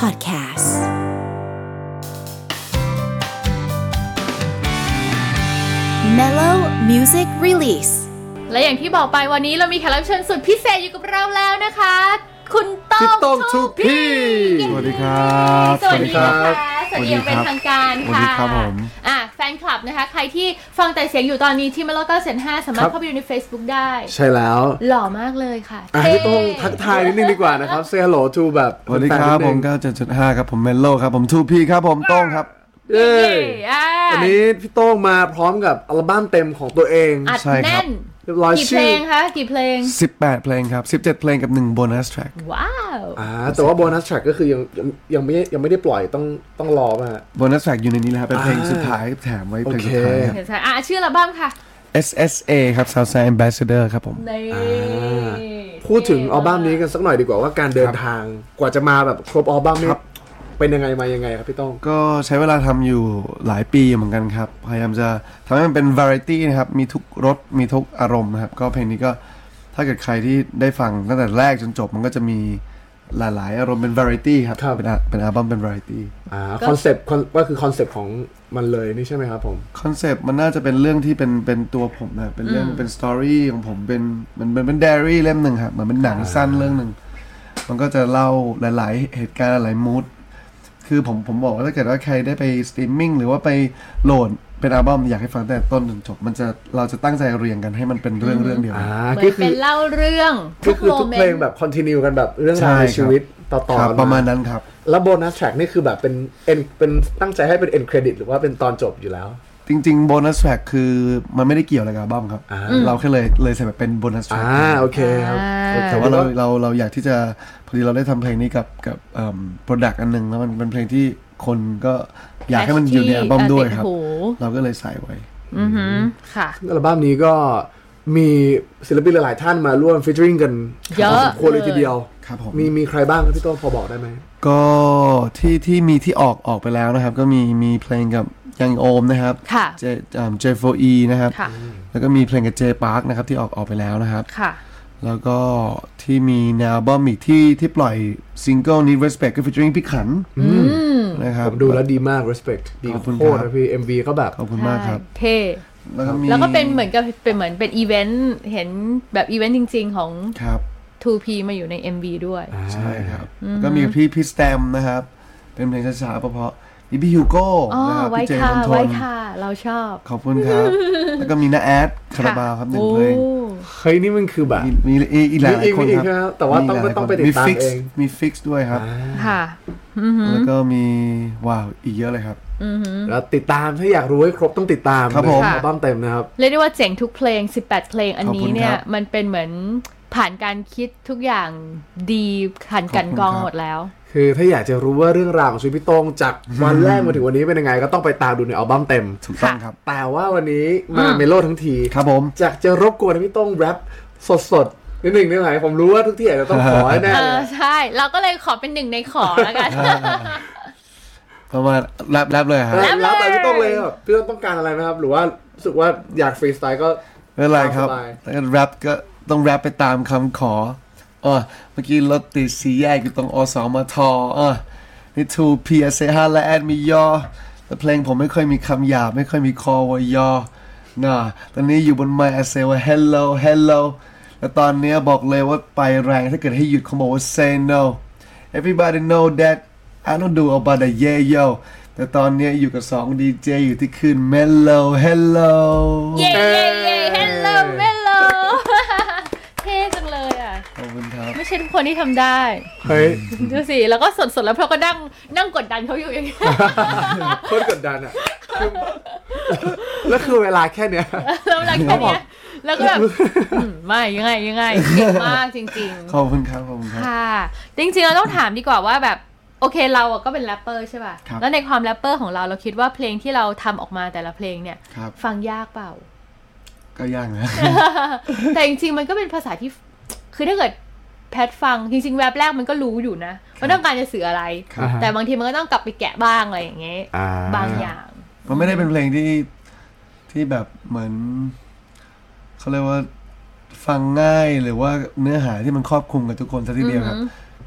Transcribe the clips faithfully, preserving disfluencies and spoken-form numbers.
Podcast Mellow Music Release และอย่างที่บอกไปวันนี้เรามีแขกรับเชิญสุดพิเศษอยู่กับเราแล้วนะคะคุณต้องทูพีสวัสดีครับสวัสดีครับสวัสดีเป็นทางการค่ะสวัสดีครับผมอ่ะแฟนคลับนะคะใครที่ฟังแต่เสียงอยู่ตอนนี้ที่ Mellow เก้า ห้าสามารถเข้าไปดูใน Facebook ได้ใช่แล้วหล่อมากเลยค่ะพี่ต้องทักทายนิดนึงดีกว่านะครับ Say hello to แบบสวัสดีครับผม เก้าเจ็ดจุดห้า ครับผม Mellow ครับผม ทู พี ครับผมโต้งครับเย้วันนี้พี่โต้งมาพร้อมกับอัลบั้มเต็มของตัวเองอัดแน่นเรียบร้อยกี่เพลงคะกี่เพลงสิบแปดเพลงครับสิบเจ็ดเพลงกับหนึ่งโบนัสแทร็กว้าวอ่าแต่ว่าโบนัสแทร็กก็คือยังยังไม่ยังไม่ได้ปล่อยต้องต้องรอป่ะโบนัสแทร็กอยู่ในนี้แล้วครับเป็นเพลงสุดท้ายแถมไว้เพลงสุดท้ายครับอ่าชื่ออัลบั้มค่ะเอส เอส เอ ครับ Southside Ambassador ครับผมพูดถึงอัลบั้มนี้กันสักหน่อยดีกว่าว่าการเดินทางกว่าจะมาแบบครบอัลบั้มนี้เป็นยังไงมายังไงครับพี่ต้องก็ใช้เวลาทำอยู่หลายปีเหมือนกันครับพยายามจะทำให้มันเป็น variety นะครับมีทุกรสมีทุกอารมณ์นะครับก็เพลงนี้ก็ถ้าเกิดใครที่ได้ฟังตั้งแต่แรกจนจบมันก็จะมีหลายๆอารมณ์เป็น variety ครับเป็นเป็นอัลบั้มเป็น variety อ่าคอนเซปต์ก็คือคอนเซปต์ของมันเลยนี่ใช่ไหมครับผมคอนเซปต์มันน่าจะเป็นเรื่องที่เป็นเป็นตัวผมนะเป็นเรื่องเป็นสตอรี่ของผมเป็นมันเป็นเป็นไดอารี่เล่มหนึ่งครับเหมือนเป็นหนังสั้นเรื่องหนึ่งมันก็จะเล่าหลายๆเหตุการณ์หลายมูดคือผมผมบอกว่าถ้าเกิดว่าใครได้ไปสตรีมมิ่งหรือว่าไปโหลดเป็นอัลบั้มอยากให้ฟังแต่ต้นจนจบมันจะเราจะตั้งใจเรียงกันให้มันเป็นเรื่องเรื่องเดียวเหมือนเป็นเล่าเรื่องก็คือทุกเพลงแบบคอนทินิวกันแบบเรื่องราวในชีวิตต่อๆกันประมาณนั้นครับแล้วโบนัสแทร็กนี่คือแบบเป็นเอ็นเป็นตั้งใจให้เป็นเอ็นเครดิตหรือว่าเป็นตอนจบอยู่แล้วจริงๆโบนัสแทร็กคือมันไม่ได้เกี่ยวอะไรกับอัลบั้มครับเราแค่เลยเลยใส่แบบเป็นโบนัสแทร็กอ่าโอเคครับแต่ว่าเราเราเราอยากที่จะพอดีเราได้ทำเพลงนี้กับกับเอ่อโปรดักต์อันนึงแล้วมันเป็นเพลงที่คนก็อยากให้มันอยู่ในอัลบั้มด้วยครับเราก็เลยใส่ไว้อือฮึค่ะอัลบั้มนี้ก็มีศิลปินหลายๆท่านมาร่วมฟีเจอริ่งกันเยอะสมควรเลยทีเดียวครับผมมีมีใครบ้างครับพี่โต้พอบอกได้ไหมก็ที่ที่มีที่ออกออกไปแล้วนะครับก็มีมีเพลงกับยังโอมนะครับเจเจโฟอีนะครับแล้วก็มีเพลงกับเจปาร์คนะครับที่ออกออกไปแล้วนะครับแล้วก็ที่มีในอัลบั้มอีกที่ที่ปล่อยซิงเกิลนี้ Respect ก็ featuring พี่ขันนะครับผมดูแล้วดีมาก Respect ดีโคตรนะพี่ เอ็ม วี ก็แบบขอบคุณมากครับเท่แล้วก็เป็นเหมือนกับเป็นเหมือนเป็นอีเวนต์เห็นแบบอีเวนต์จริงๆของ ทู พี มาอยู่ใน เอ็ม วี ด้วยใช่ครับก็มีพี่พี่สแตมนะครับเป็นเพลงช้าๆเพราะมีพี่ฮิวโก้นะครับพี่เจมส์ทนไว้ค่ะเราชอบขอบคุณครับแล้วก็มีน้าแอดคาราบาวครับหนึ่งเพลงเฮ้ยนี่มันคือแบบมีอีกหลายคนครับแต่ว่าต้องต้องไปติดตามเองมีฟิกซ์ด้วยครับค่ะแล้วก็มีว้าวอีกเยอะเลยครับแล้วติดตามถ้าอยากรู้ให้ครบต้องติดตามครับผมอัลบั้มเต็มนะครับเรียกได้ว่าเจ๋งทุกเพลงสิบแปดเพลงอันนี้เนี่ยมันเป็นเหมือนผ่านการคิดทุกอย่างดีผ่านกันกรองหมดแล้วคือถ้าอยากจะรู้ว่าเรื่องราวของชีวิตพี่โต้งจากวันแรกมาถึงวันนี้เป็นยังไงก็ต้องไปตามดูในอัลบั้มเต็มถูกต้องครับแต่ว่าวันนี้มาเมโลทั้งทีครับผมจากจะรบกวนให้พี่โต้งแรปสดๆนิดหนึ่งได้ไหมผมรู้ว่าทุกที่อาจจะต้องขอให้แน่เลยใช่เราก็เลยขอเป็นหนึ่งในขอแล้วกันประมาณแรปแรปเลยครับแรปแรปไปพี่โต้งเลยครับพี่โต้งต้องการอะไรไหมครับหรือว่ารู้สึกว่าอยากฟรีสไตล์ก็ไม่เป็นไรครับแล้วแรปก็ต้องแรปไปตามคำขออ๋อเมื่อกี้รถติดสีแยกอยู่ตรงอสมทอ่ะนี่ ทู พี เอส เอ ห้า และแอดมียอแต่เพลงผมไม่ค่อยมีคำหยาบไม่ค่อยมีคอว่ายอน่ะตอนนี้อยู่บนไมค์ I say ว่า hello hello แล้วตอนนี้บอกเลยว่าไปแรงถ้าเกิดให้หยุดเขาบอกว่า say no everybody know that I don't do about the yeah yo แต่ตอนนี้อยู่กับสองดีเจอยู่ที่คืน mellow hello yeah yeah yeah hello mellowเท่จังเลยอ่ะขอบคุณครับไม่ใช่ทุกคนที่ทำได้เฮ้ยดูสิแล้วก็สดๆแล้วเราก็นั่งนั่งกดดันเขาอยู่อย่างนี้โคตรกดดันอ่ะแล้วคือเวลาแค่เนี้ยแล้วเวลาแค่เนี้ยแล้วก็แบบไม่ยังไงยังไงเก่งมากจริงๆขอบคุณครับขอบคุณครับค่ะจริงๆเราต้องถามดีกว่าว่าแบบโอเคเราก็เป็นแรปเปอร์ใช่ป่ะแล้วในความแรปเปอร์ของเราเราคิดว่าเพลงที่เราทำออกมาแต่ละเพลงเนี่ยฟังยากเปล่าก็ยากนะแต่จริงๆมันก็เป็นภาษาที่คือถ้าเกิดแพทฟังจริงๆแรปแรกมันก็รู้อยู่นะว่าต้องการจะสื่ออะไรแต่บางทีมันก็ต้องกลับไปแกะบ้างอะไรอย่างเงี้ยบางอย่างมันไม่ได้เป็นเพลงที่ที่แบบเหมือนเขาเรียกว่าฟังง่ายหรือว่าเนื้อหาที่มันครอบคลุมกับทุกคนซะทีเดียวครับ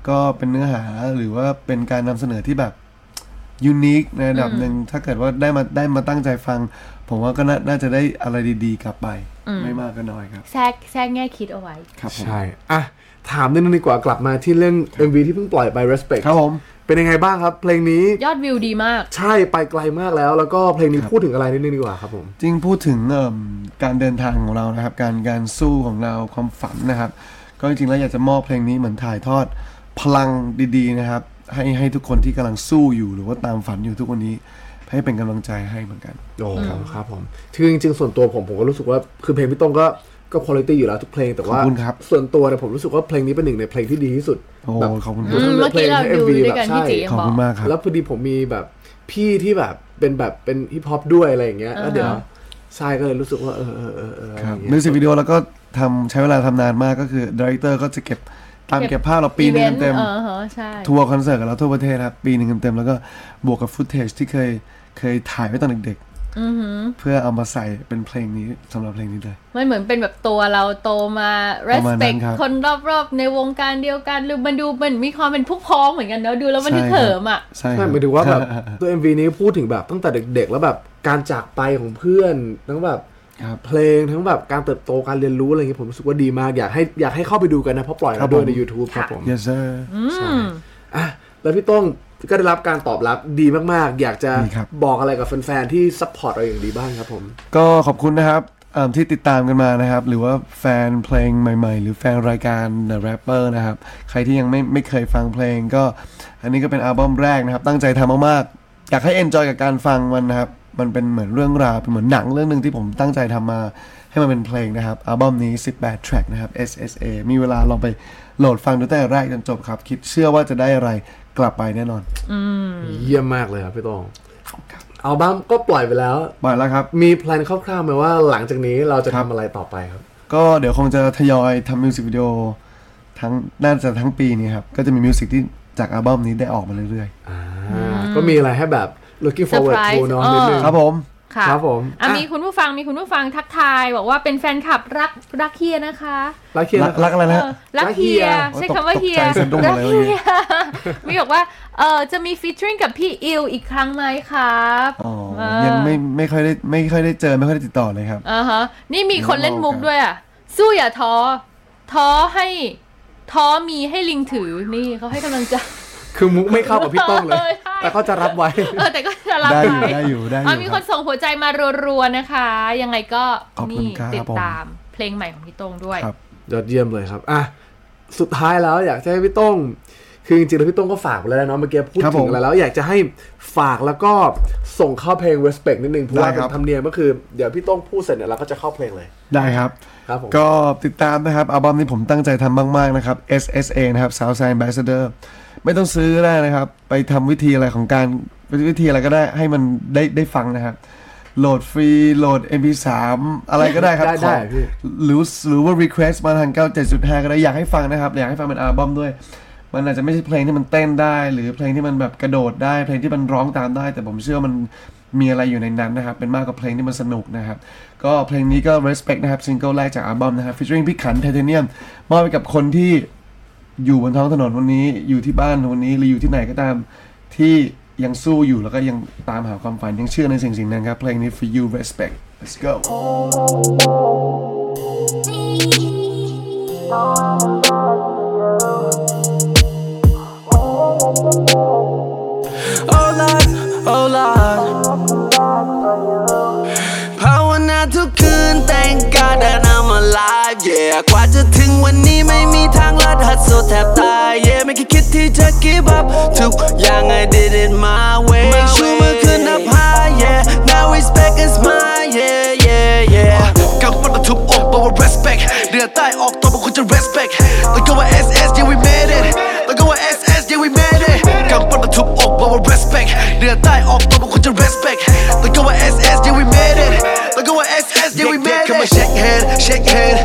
ก็เป็นเนื้อหาหรือว่าเป็นการนำเสนอที่แบบยูนิคในระดับหนึ่งถ้าเกิดว่าได้มาได้มาตั้งใจฟังผมว่าก็น่าจะได้อะไรดีๆกลับไปไม่มากก็น้อยครับแทรกแทรกแง่คิดเอาไว้ครับใช่อ่ะถามนิดนึงดีกว่ากลับมาที่เรื่อง เอ็ม วี ที่เพิ่งปล่อยไป Respect ครับผมเป็นยังไงบ้างครับเพลงนี้ยอดวิวดีมากใช่ไปไกลมากแล้วแล้วก็เพลงนี้พูดถึงอะไรนิดนึงดีกว่าครับผมจริงพูดถึงการเดินทางของเรานะครับการการสู้ของเราความฝันนะครับก็จริงๆแล้วอยากจะมอบเพลงนี้เหมือนถ่ายทอดพลังดีๆนะครับให้ให้ทุกคนที่กำลังสู้อยู่หรือว่าตามฝันอยู่ทุกวันนี้ให้เป็นกำลังใจให้เหมือนกันโอ้ครับผมคือจริงๆส่วนตัวผมผมก็รู้สึกว่าคือเพลงพี่ต้องก็ก็คุณภาพอยู่แล้วทุกเพลงแต่ว่าส่วนตัวเนี่ยผมรู้สึกว่าเพลงนี้เป็นหนึ่งในเพลงที่ดีที่สุดแบบขอบคุณครับเมื่อกี้เราดูด้วยกันพี่จีขอบคุณมากครับแล้วพอดีผมมีแบบพี่ที่แบบเป็นแบบเป็นฮิปฮอปด้วยอะไรอย่างเงี้ยแล้วเดี๋ยวใช่ก็เลยรู้สึกว่าเออเออเออเออครับมิวสิกวิดีโอแล้วก็ทำใช้เวลาทำนานมากก็คือดีเรคเตอร์ก็จะเก็บตามเก็บภาพเราปีนึงเต็มทัวร์คอนเสิร์ตกับเราทั่วประเทศครับปีนึงเต็มแล้วก็บวกกับฟุตเทจที่เคยเคยถ่ายไว้ตอนเด็กๆเพื่อเอามาใส่เป็นเพลงนี้สำหรับเพลงนี้เลยมันเหมือนเป็นแบบตัวเราโตมา respect คนรอบๆในวงการเดียวกันหรือมันดูมันมีความเป็นพวกพ้องเหมือนกันเนอะดูแล้วมันนึกเหิมอ่ะใช่หมายถึงว่าแบบตัว เอ็ม วี นี้พูดถึงแบบตั้งแต่เด็กๆแล้วแบบการจากไปของเพื่อนทั้งแบบเพลงทั้งแบบการเติบโตการเรียนรู้อะไรอย่างเงี้ยผมรู้สึกว่าดีมากอยากให้อยากให้เข้าไปดูกันนะเพราะปล่อยมาด้วยใน YouTube ครับผม Yes sir ใช่อ่ะแล้วพี่ต้องก็ได้รับการตอบรับดีมากๆอยากจะบอกอะไรกับแฟนๆที่ซัพพอร์ตเราอย่างดีบ้างครับผมก็ขอบคุณนะครับที่ติดตามกันมานะครับหรือว่าแฟนเพลงใหม่ๆหรือแฟนรายการ The Rapper นะครับใครที่ยังไม่ไม่เคยฟังเพลงก็อันนี้ก็เป็นอัลบั้มแรกนะครับตั้งใจทำมากๆอยากให้เอนจอยกับการฟังมันนะครับมันเป็นเหมือนเรื่องราวเป็นเหมือนหนังเรื่องนึงที่ผมตั้งใจทำมาให้มันเป็นเพลงนะครับอัลบั้มนี้สิบแปด track นะครับ เอส เอส เอ มีเวลาลองไปโหลดฟังดูตั้งแต่แรกจนจบครับคิดเชื่อว่าจะได้อะไรกลับไปแน่นอนเยี่ยมมากเลยครับพี่ต้องอัลบั้มก็ปล่อยไปแล้วปล่อยแล้วครับมีแพลนคร่าวๆไหมว่าหลังจากนี้เราจะทำอะไรต่อไปครับก็เดี๋ยวคงจะทยอยทำมิวสิกวิดีโอทั้งน่าจะทั้งปีนี้ครับก็จะมีมิวสิกที่จากอัลบั้มนี้ได้ออกมาเรื่อยๆก็มีอะไรให้แบบ looking forward to เนาะนิดนึงครับผมครับผมอ่ะมีคุณผู้ฟังมีคุณผู้ฟังทักทายบอกว่าเป็นแฟนคลับรักรักเฮียนะคะรักเฮียรักอะไรนะรักเฮียใช้คำว่าเฮียรักเฮียมีบอกว่าเออจะมีฟีเจอริ่งกับพี่อิวอีกครั้งไหมครับอ๋อยังไม่ไม่ค่อยได้ไม่ค่อยได้เจอไม่ค่อยได้ติดต่อเลยครับอ่าฮะนี่มีคนเล่นมุกด้วยอ่ะสู้อย่าท้อท้อให้ท้อมีให้ลิงถือนี่เขาให้กำลังใจคือมุกไม่เข้ากับพี่ต้องเลยแต่เขาจะรับไว้เออแต่ก็จะรับไว้ได้อยู่ได้อยู่มีคนส่งหัวใจมารัวๆนะคะยังไงก็นี่ติดตามเพลงใหม่ของพี่ต้องด้วยยอดเยี่ยมเลยครับอ่ะสุดท้ายแล้วอยากจะให้พี่ต้องคือจริงๆแล้วพี่ต้องก็ฝากไปแล้วเนาะเมื่อกี้พูดถึงอะไรแล้วอยากจะให้ฝากแล้วก็ส่งเข้าเพลง Respect นิดนึงเพราะว่าเป็นธรรมเนียมก็คือเดี๋ยวพี่ต้องพูดเสร็จเนี่ยเราก็จะเข้าเพลงเลยได้ครับก็ติดตามนะครับอัลบั้มนี้ผมตั้งใจทำมากๆนะครับ เอส เอส เอ นะครับ Southside Ambassadorไม่ต้องซื้อได้นะครับไปทำวิธีอะไรของการวิธีอะไรก็ได้ให้มันได้ได้ฟังนะครับโหลดฟรีโหลด เอ็ม พี สาม อะไรก็ได้ครับได้พี่หรือหรือว่า request มาทาง เก้าสิบเจ็ดจุดห้า ก็ได้อยากให้ฟังนะครับอยากให้ฟังเป็นอัลบั้มด้วยมันอาจจะไม่ใช่เพลงที่มันเต้นได้หรือเพลงที่มันแบบกระโดดได้เพลงที่มันร้องตามได้แต่ผมเชื่อมันมีอะไรอยู่ในนั้นนะครับเป็นมากกว่าเพลงที่มันสนุกนะครับก็เพลงนี้ก็ respect นะครับซิงเกิลแรกจากอัลบั้มนะครับ featuring พี่ขันไทเทเนียมมอบไปกับคนที่อยู่บนท้องถนนวันนี้อยู่ที่บ้านวันนี้หรืออยู่ที่ไหนก็ตามที่ยังสู้อยู่แล้วก็ยังตามหาความฝันยังเชื่อในสิ่งสิ่งนั้นครับเพลงนี้ for you respect let's go oh Lord oh Lord ภาวนาทุกคืน thank God that I'm alive yeah กว่าจะถึงวันนี้ไม่มีทางลัดหัดโซแทบตาย yeah ไม่เคยคิดที่จะ give up ทุกอย่าง I did it my way ชูมือขึ้นนับ high yeah now respect is mine yeah yeah yeah กังวลมาทุบอกบอกว่า respect เดือดใต้ออกตัวบอกคุณจะ respect ต้องก็ว่า เอส เอส yeah we made it ต้องก็ว่า เอส เอส yeah we made it กังวลมาทุบอกบอกว่า respect เดือดใต้ออกตัวบอกคุณจะ respect ต้องก็ว่า เอส เอส yeah we made itต้องก็ว่า เอส เอส yeah we made it come on shake hand shake hand if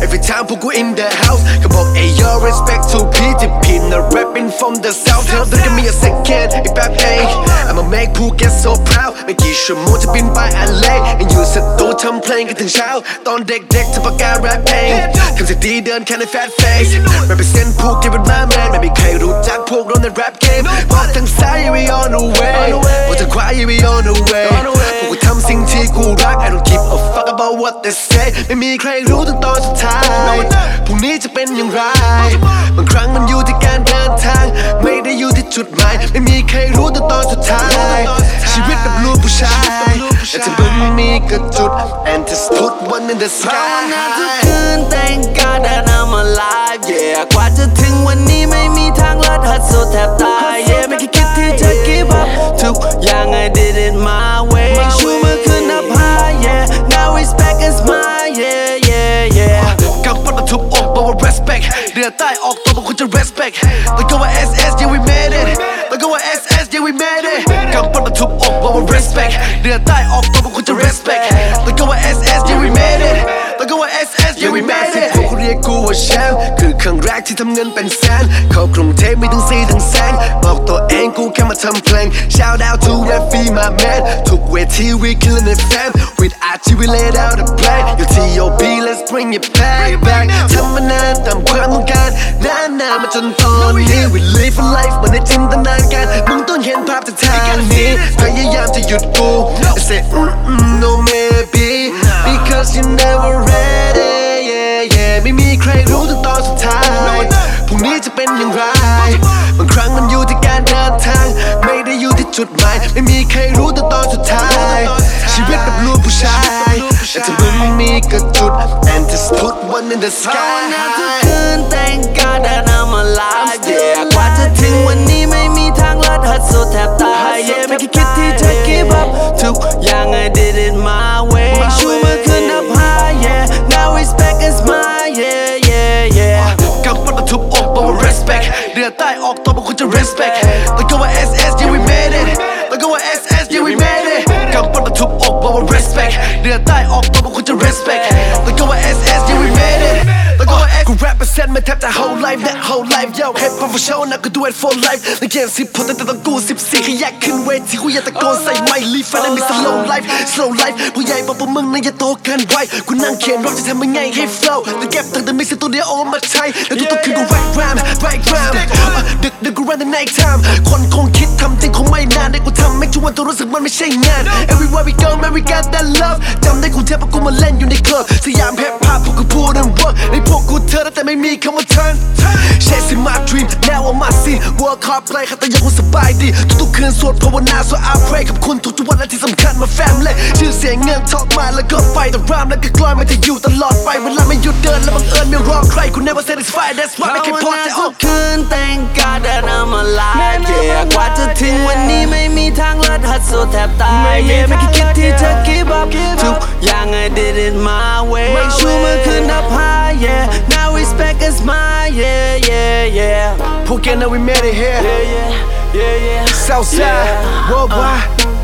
every time พวกกู in the house ก็บอก hey yo respect to P ที่ P not rapping from the south Tell them give me a second ไอ้แป๊บเอง I'ma make Phuket so proud ไม่กี่ชั่วโมงจะบินไป แอล เอ ยังอยู่สตูทำเพลงกันถึงเช้าตอนเด็กๆจะประกาศแรปเองทำเสียงดีเดินแค่ใน fat face represent ภูเก็ตเป็นมาแมนไม่มีใครรู้จักพวกเราใน rap game พอทางซ้าย yeah we on the way พอทางขวา yeah we on the way พวกกูทำสิ่งที่กูรัก I don't give a fuck about what they say ไม่มีใครรู้ถึงตอนสุดท้ายพรุ่งนี้จะเป็นอย่างไรบางครั้งมันอยู่ที่การเดินทางไม่ได้อยู่ที่จุดหมายไม่มีใครรู้ถึงตอนสุดท้ายชีวิตแบบลูกผู้ชายแต่ถ้ามึงมีกระจุด and just put one in the sky ภาวนาทุกคืน thank God that I'm alive yeah กว่าจะถึงวันนี้ไม่มีทางลัดหัดสุดแทบตาย yeah ไม่คิดที่จะ give up ทุกอย่าง I did it my way ชูมือขึ้น up high yeah now respect is mine yeah yeah yeah กำปั้นมาทุบอกบอกว่า respect เดือดใต้ออกตัวบอกคุณจะ respect แล้วก็ว่า เอส เอส yeah we made it แล้วก็ว่า เอส เอส yeah we made it กำปั้นมาทุบอกบอกว่า respect เดือดใต้ออกตัวบอกคุณจะ respect แล้วก็ว่า เอส เอส yeah we made it แล้วก็ว่า เอส เอส yeah we made it พวกเขาเรียกกูว่าแชมป์คือครั้งแรกที่ทำเงินเป็นแสนเข้ากรุงเทพมีทั้งซีทั้งแสงบอกตัวเองกูแค่มาทำเพลง shout out to Rap Fee my man ทุกเวที we killing it fam with อาร์ จี we laid out a plan your ที โอ บี let's bring it back back ทำมานานตามความต้องการนานๆมาจนตอนนี้ we live a life เหมือนในจินตนาการมึงต้องเห็นภาพจากทางนี้พยายามจะหยุดกู I say mm mm no maybe because you never ready yeah yeah ไม่มีใครรู้ถึงตอนสุดท้ายพรุ่งนี้จะเป็นอย่างไรบางครั้งมันอยู่ที่การเดินทางไม่ได้อยู่ที่จุดหมายไม่มีใครรู้ถึงตอนสุดท้ายชีวิตแบบลูกผู้ชายแต่ถ้ามึงมีกระจุด and just put one in the sky ภาวนาทุกคืน thank God that I'm alive yeah กว่าจะถึงวันนี้ไม่มีทางลัดหัดสุดแทบตาย yeah ไม่คิดที่จะ give up ทุกอย่าง I did it my way ชูมือขึ้น up high yeah now respect is mine yeah yeah yeah กำปั้นมาทุบอกบอกว่า respect เดือดใต้ออกตัวบอกคุณจะ respect แล้วก็ว่า เอส เอส yeah we made it แล้วก็ว่า เอส เอส yeah we made it กำปั้นมาทุบอกบอกว่า respect เดือดใต้ออกตัวบอกคุณจะ respect แล้วก็ว่า เอส เอส yeah we made it แล้วก็ว่า S กู represent มาแทบจะ whole life that whole life yo hip hop for show นะกู do it for life ในเกมสิบพอแต่ต้องกูสิบสี่ขยักขึ้นเวทีกูอยากตะโกนใส่ไมค์ live and I miss slow life slow life ผู้ใหญ่บอกพวกมึงน่าจะโตเกินวัยกูนั่งเขียนรถจะทำยังไงให้ flow แต่เก็บตั้งแต่มิกซ์ตัวเดียวเอามาใช้แล้วทุกๆคืนกู write rhyme write rhyme ดึกดึกกู run the night time คนคงคิดทำจริงคงไม่นานได้กูทำไม่ชวนตัวรู้สึกมันไม่ใช่งาน everywhere we go man we got that love จำได้กูเทปกูมาเล่นอยู่ในคลับสยามแฮปฮอปพวกกูพูด and work ในพวกกูเธอแต่ไม่มีคำว่า turn chasing my dream now on my scene work hard play แต่ยังคงสบายดีทุกๆคืนสวดภาวนา so I pray ขอบคุณทุกๆวันและที่สำคัญมา family ชื่อเสียงเงินทองมาแล้วก็ไฟแต่รามแล้วก็กลอยมันจะอยู่ตลอดไปเวลาไม่หยุดเดินและบังเอิญไม่รอใครกู never satisfied that's why ไม่เคยพอจะออกคืน thank God that I'm alive yeah กว่าจะถึงวันนี้ไม่มีทางลัดหัดสุดแทบตาย yeah ไม่คิดที่จะ give up ทุกอย่าง I did it my way ชูมือขึ้น up high yeah now respect is mine yeah yeah yeah Phuket now we made it here yeah yeah yeah yeah Southside worldwide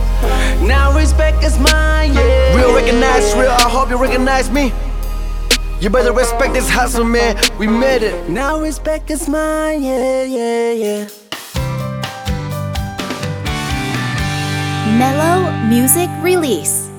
now respect is mine yeah real recognize real I hope you recognize me You better respect this hustle, man. We made it. Now respect is mine, yeah, yeah, yeah. Mellow Music Release.